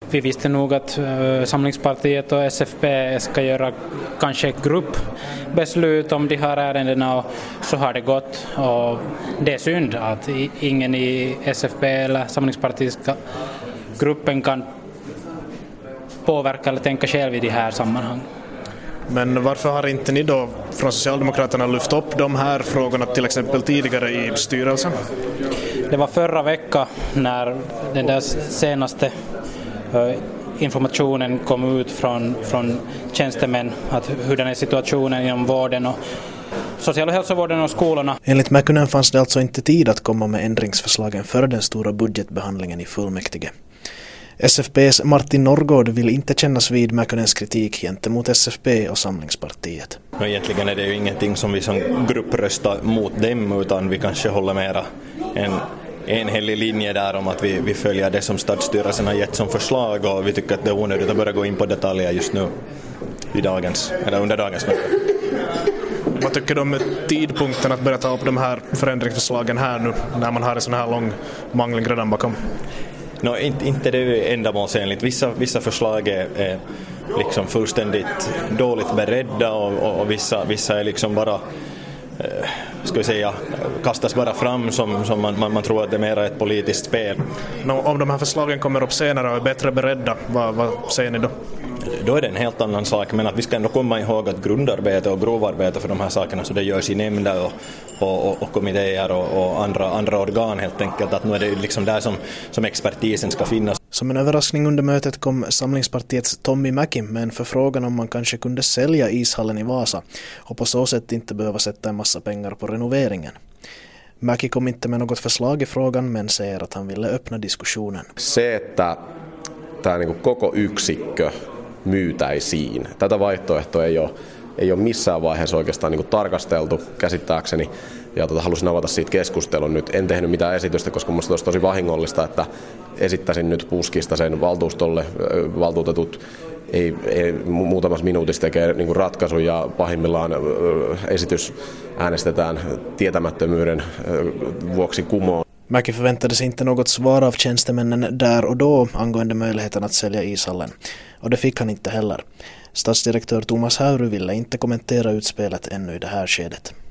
Vi visste nog att Samlingspartiet och SFP ska göra kanske ett gruppbeslut om de här ärendena, och så har det gått. Och det är synd att ingen i SFP eller Samlingspartiska gruppen kan påverka eller tänka själv i de här sammanhang. Men varför har inte ni då från Socialdemokraterna lyft upp de här frågorna till exempel tidigare i styrelsen? Det var förra veckan när den där senaste informationen kom ut från tjänstemän, att hur den är situationen inom vården och social- och hälsovården och skolorna. Enligt Mäkynen fanns det alltså inte tid att komma med ändringsförslagen före den stora budgetbehandlingen i fullmäktige. SFP:s Martin Norrgård vill inte kännas vid Mäkynens kritik gentemot SFP och Samlingspartiet. Egentligen är det ju ingenting som vi som grupp röstar mot dem, utan vi kanske håller mera en enhällig linje där om att vi följer det som stadsstyrelsen har gett som förslag, och vi tycker att det är onödigt att börja gå in på detaljer just nu under dagens möte. Vad tycker du om tidpunkten att börja ta upp de här förändringsförslagen här nu när man har en sån här lång mangling redan bakom? Inte det är ändamålsenligt. Vissa förslag är liksom fullständigt dåligt beredda, och vissa är liksom bara kastas bara fram som man tror att det är mer ett politiskt spel. Om de här förslagen kommer upp senare och är bättre beredda, vad säger ni då? Då är det en helt annan sak, men att vi ska ändå komma ihåg att grundarbete och grovarbete för de här sakerna, så det görs i nämnder och kommittéer och andra organ helt enkelt, att nu är det liksom där som expertisen ska finnas. Som en överraskning under mötet kom Samlingspartiets Tommy Mäki med en förfrågan om man kanske kunde sälja ishallen i Vasa och på så sätt inte behöva sätta en massa pengar på renoveringen. Mäki kom inte med något förslag i frågan, men säger att han ville öppna diskussionen. Se, että tämä niin kuin koko yksikkö myytäisiin. Tätä vaihtoehtoa ei ole missään vaiheessa oikeastaan niin kuin tarkasteltu käsittääkseni, ja halusin avata siitä keskustelun nyt. En tehnyt mitään esitystä, koska minusta olisi tosi vahingollista, että esittäisin nyt puskista sen valtuustolle. Valtuutetut ei muutamassa minuutissa tekee niin kuin ratkaisun, ja pahimmillaan esitys äänestetään tietämättömyyden vuoksi kumoon. Mäki förväntade sig inte något svar av tjänstemännen där och då angående möjligheten att sälja ishallen, och det fick han inte heller. Stadsdirektör Thomas Hauru ville inte kommentera utspelet ännu i det här skedet.